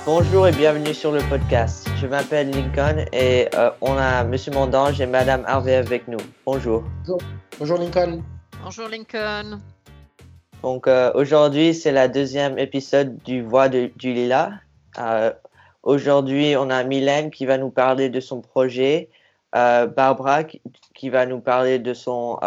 Bonjour et bienvenue sur le podcast. Je m'appelle Lincoln et on a Monsieur Mondange et Madame Harvey avec nous. Bonjour. Bonjour Lincoln. Bonjour Lincoln. Donc aujourd'hui, c'est la deuxième épisode du Voix du Lilas. Aujourd'hui, on a Mylène qui va nous parler de son projet, Barbara qui va nous parler de son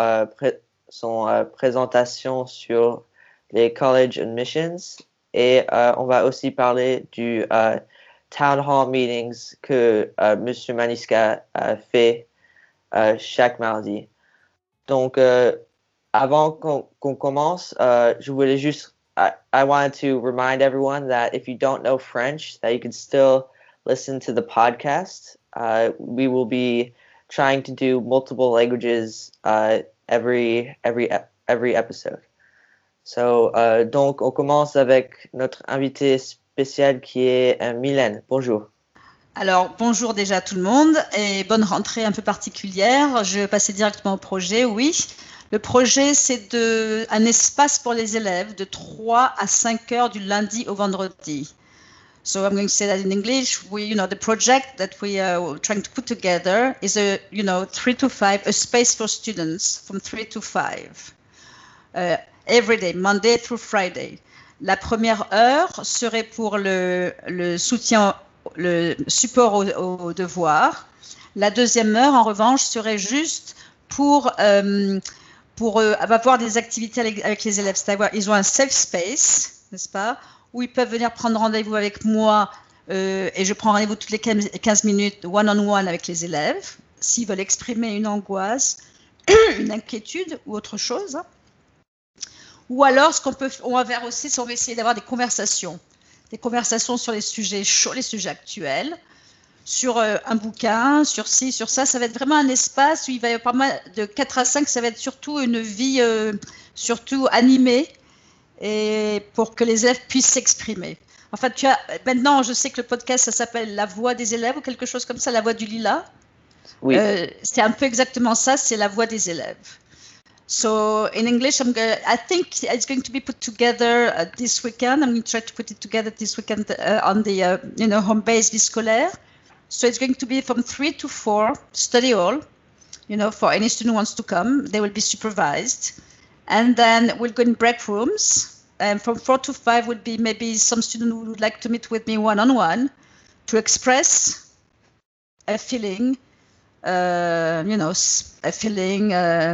présentation sur les college admissions et on va aussi parler du town hall meetings que Monsieur Maniska fait chaque mardi. Donc avant qu'on commence, je voulais juste I wanted to remind everyone that if you don't know French, that you can still listen to the podcast. We will be trying to do multiple languages every episode. So, donc, on commence avec notre invité spécial qui est Mylène. Bonjour. Alors, bonjour déjà à tout le monde et bonne rentrée un peu particulière. Je vais passer directement au projet, oui. Le projet, c'est un espace pour les élèves de 3 à 5 heures du lundi au vendredi. So I'm going to say that in English. The project that we are trying to put together is 3 to 5, a space for students from 3 to 5. Every day, Monday through Friday. La première heure serait pour le soutien, le support aux devoirs. La deuxième heure, en revanche, serait juste pour avoir des activités avec les élèves. C'est-à-dire, ils ont un safe space, n'est-ce pas, où ils peuvent venir prendre rendez-vous avec moi et je prends rendez-vous toutes les 15 minutes one-on-one avec les élèves, s'ils veulent exprimer une angoisse, une inquiétude ou autre chose. Ou alors, on va faire aussi, on va essayer d'avoir des conversations sur les sujets chauds, les sujets actuels, sur un bouquin, sur ci, sur ça. Ça va être vraiment un espace où il va y avoir pas mal de 4 à 5, ça va être surtout une vie surtout animée et pour que les élèves puissent s'exprimer. En fait, maintenant, je sais que le podcast, ça s'appelle La Voix des élèves ou quelque chose comme ça, La Voix du Lilas. Oui. C'est un peu exactement ça, c'est la voix des élèves. So in English, I think it's going to be put together this weekend. I'm going to try to put it together this weekend on the home base vie scolaire. So it's going to be from 3 to 4 study hall. For any student who wants to come, they will be supervised, and then we'll go in break rooms. And from 4 to 5 would be maybe some student who would like to meet with me one-on-one to express a feeling. A feeling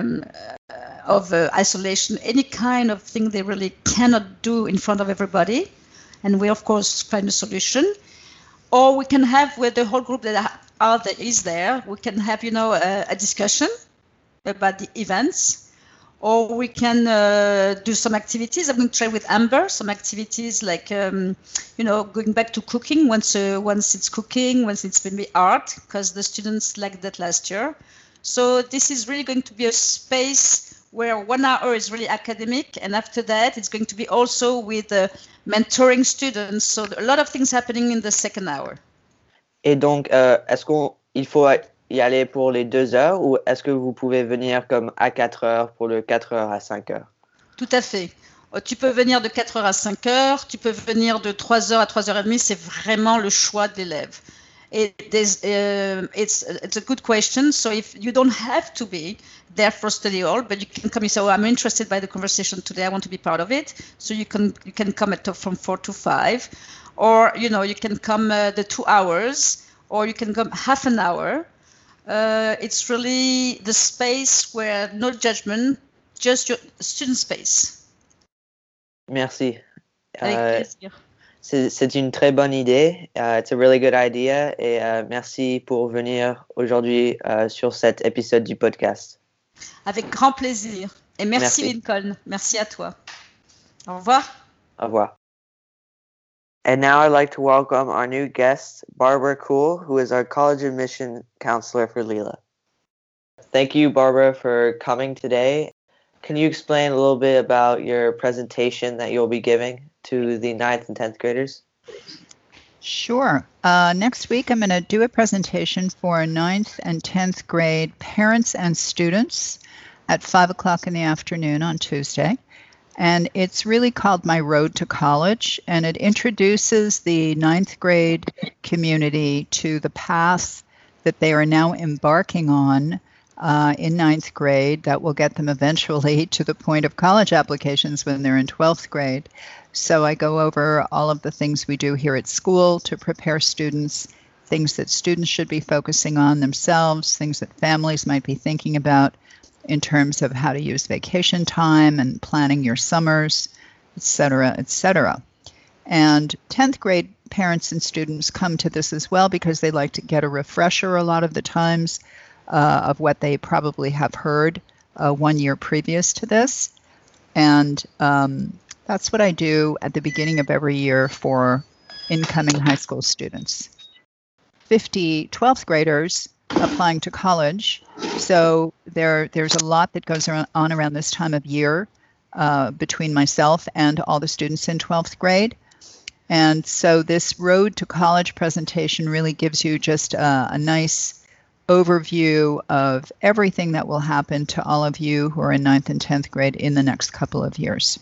of isolation, any kind of thing they really cannot do in front of everybody. And we, of course, find a solution. Or we can have, with the whole group that is there, we can have, a discussion about the events. Or we can do some activities. I'm going to try with Amber some activities like, going back to cooking once it's cooking, once it's maybe art, because the students liked that last year. So this is really going to be a space where 1 hour is really academic, and after that, it's going to be also with mentoring students. So a lot of things happening in the second hour. Et donc, est-ce qu'il faut y aller pour les 2 heures ou est-ce que vous pouvez venir comme à 4 heures pour le 4 heures à 5 heures? Tout à fait. Tu peux venir de 4 heures à 5 heures, tu peux venir de 3 heures à 3 heures et demie, c'est vraiment le choix de l'élève. It's a good question. So if you don't have to be there for study hall, but you can come and say, "Oh, I'm interested by the conversation today. I want to be part of it." So you can come from 4 to 5, or you can come the 2 hours, or you can come half an hour. It's really the space where no judgment, just your student space. Merci. Avec plaisir. C'est une très bonne idée. It's a really good idea. Et merci pour venir aujourd'hui sur cet épisode du podcast. Avec grand plaisir. Et merci. Lincoln. Merci à toi. Au revoir. Au revoir. And now I'd like to welcome our new guest, Barbara Kuhl, who is our college admission counselor for Lila. Thank you, Barbara, for coming today. Can you explain a little bit about your presentation that you'll be giving to the 9th and 10th graders? Sure. Next week, I'm going to do a presentation for 9th and 10th grade parents and students at 5 o'clock in the afternoon on Tuesday. And it's really called My Road to College, and it introduces the ninth grade community to the path that they are now embarking on in ninth grade that will get them eventually to the point of college applications when they're in 12th grade. So I go over all of the things we do here at school to prepare students, things that students should be focusing on themselves, things that families might be thinking about in terms of how to use vacation time and planning your summers, et cetera, et cetera. And 10th grade parents and students come to this as well because they like to get a refresher a lot of the times of what they probably have heard 1 year previous to this. And that's what I do at the beginning of every year for incoming high school students. 50 12th graders applying to college. So there's a lot that goes on around this time of year between myself and all the students in 12th grade. And so this Road to College presentation really gives you just a nice overview of everything that will happen to all of you who are in 9th and 10th grade in the next couple of years.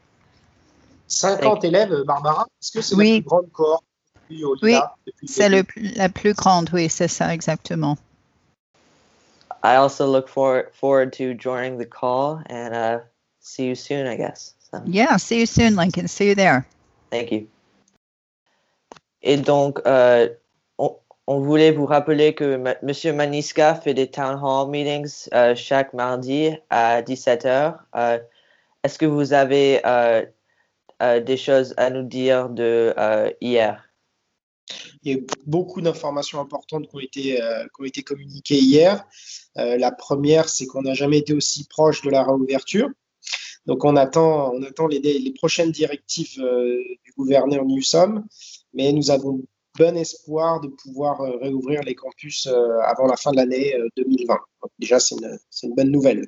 50 élèves, Barbara, est-ce que c'est Oui. la plus grande cohorte depuis au Oui, LILA, depuis c'est le début? la plus grande, oui, c'est ça exactement. I also look forward to joining the call and see you soon, I guess. So, Yeah, see you soon, Lincoln. See you there. thank you. Et donc, on voulait vous rappeler que Monsieur Maniska fait des town hall meetings chaque mardi à 17h. Est-ce que vous avez des choses à nous dire de hier? Il y a eu beaucoup d'informations importantes qui ont été communiquées hier. La première, c'est qu'on n'a jamais été aussi proche de la réouverture. Donc, on attend les prochaines directives du gouverneur Newsom, mais nous avons bon espoir de pouvoir réouvrir les campus avant la fin de l'année 2020. Donc, déjà, c'est une bonne nouvelle.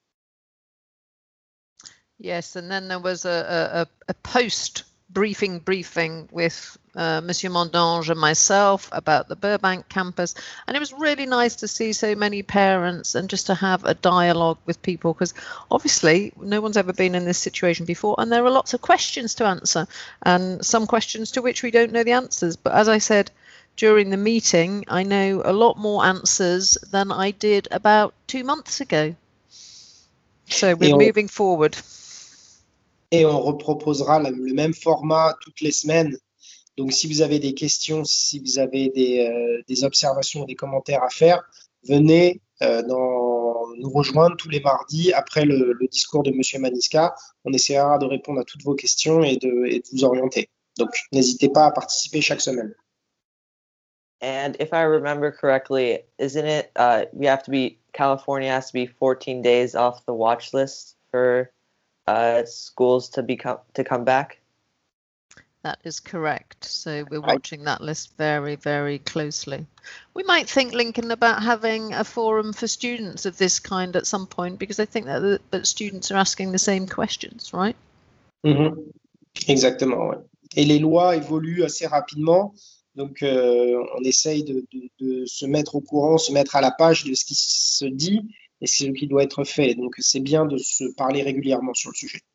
Yes, and then there was a post-briefing with Monsieur Mondange and myself about the Burbank campus, and it was really nice to see so many parents and just to have a dialogue with people, because obviously no one's ever been in this situation before, and there are lots of questions to answer, and some questions to which we don't know the answers. But as I said during the meeting, I know a lot more answers than I did about 2 months ago. So we're moving forward. Et on reproposera le même format toutes les semaines. Donc, si vous avez des questions, si vous avez des observations, des commentaires à faire, venez nous rejoindre tous les mardis après le discours de Monsieur Maniska. On essaiera de répondre à toutes vos questions et de vous orienter. Donc, n'hésitez pas à participer chaque semaine. And if I remember correctly, isn't it California has to be 14 days off the watch list for schools to come back? That is correct. So we're watching that list very, very closely. We might think, Lincoln, about having a forum for students of this kind at some point, because I think that students are asking the same questions, right? Exactement, ouais. Et les lois évoluent assez rapidement. Donc, on essaye de se mettre au courant, se mettre à la page de ce qui se dit et ce qui doit être fait. Donc, c'est bien de se parler régulièrement sur le sujet.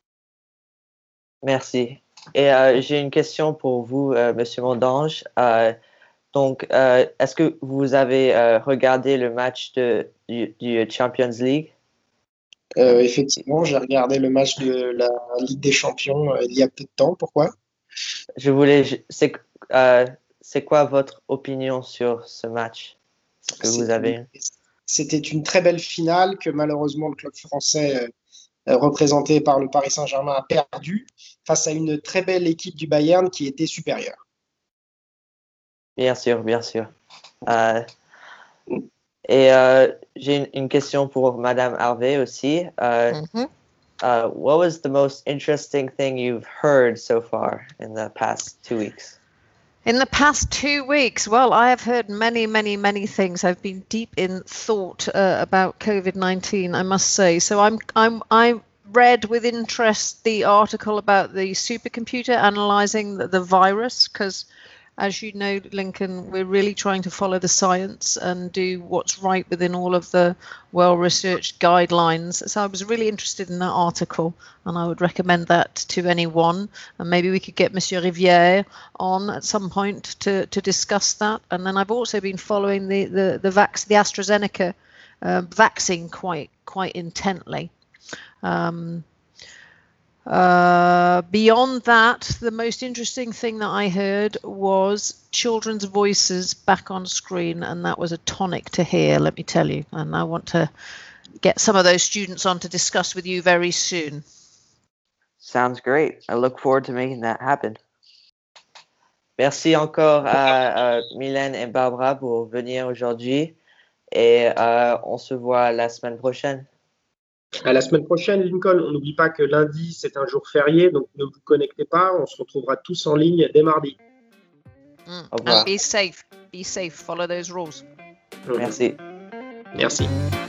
Merci. Et j'ai une question pour vous, Monsieur Mondange. Donc, est-ce que vous avez regardé le match du Champions League? Effectivement, j'ai regardé le match de la Ligue des Champions il y a peu de temps. Pourquoi? C'est quoi votre opinion sur ce match que vous avez? C'était une très belle finale que malheureusement le club français représenté par le Paris Saint-Germain a perdu face à une très belle équipe du Bayern qui était supérieure. Bien sûr, bien sûr. Et j'ai une question pour Madame Harvey aussi. What was the most interesting thing you've heard so far in the past 2 weeks? In the past 2 weeks, well, I have heard many, many, many things. I've been deep in thought about COVID-19, I must say. So I read with interest the article about the supercomputer analyzing the virus, because as you know, Lincoln, we're really trying to follow the science and do what's right within all of the well-researched guidelines. So I was really interested in that article, and I would recommend that to anyone. And maybe we could get Monsieur Rivière on at some point to discuss that. And then I've also been following the AstraZeneca vaccine quite intently. Beyond that, the most interesting thing that I heard was children's voices back on screen, and that was a tonic to hear, let me tell you. And I want to get some of those students on to discuss with you very soon. Sounds great. I look forward to making that happen. Merci encore à Mylène et Barbara pour venir aujourd'hui, et on se voit la semaine prochaine. À la semaine prochaine, Lincoln. On n'oublie pas que lundi, c'est un jour férié, donc ne vous connectez pas. On se retrouvera tous en ligne dès mardi. Au revoir. And be safe. Follow those rules. Merci. Merci.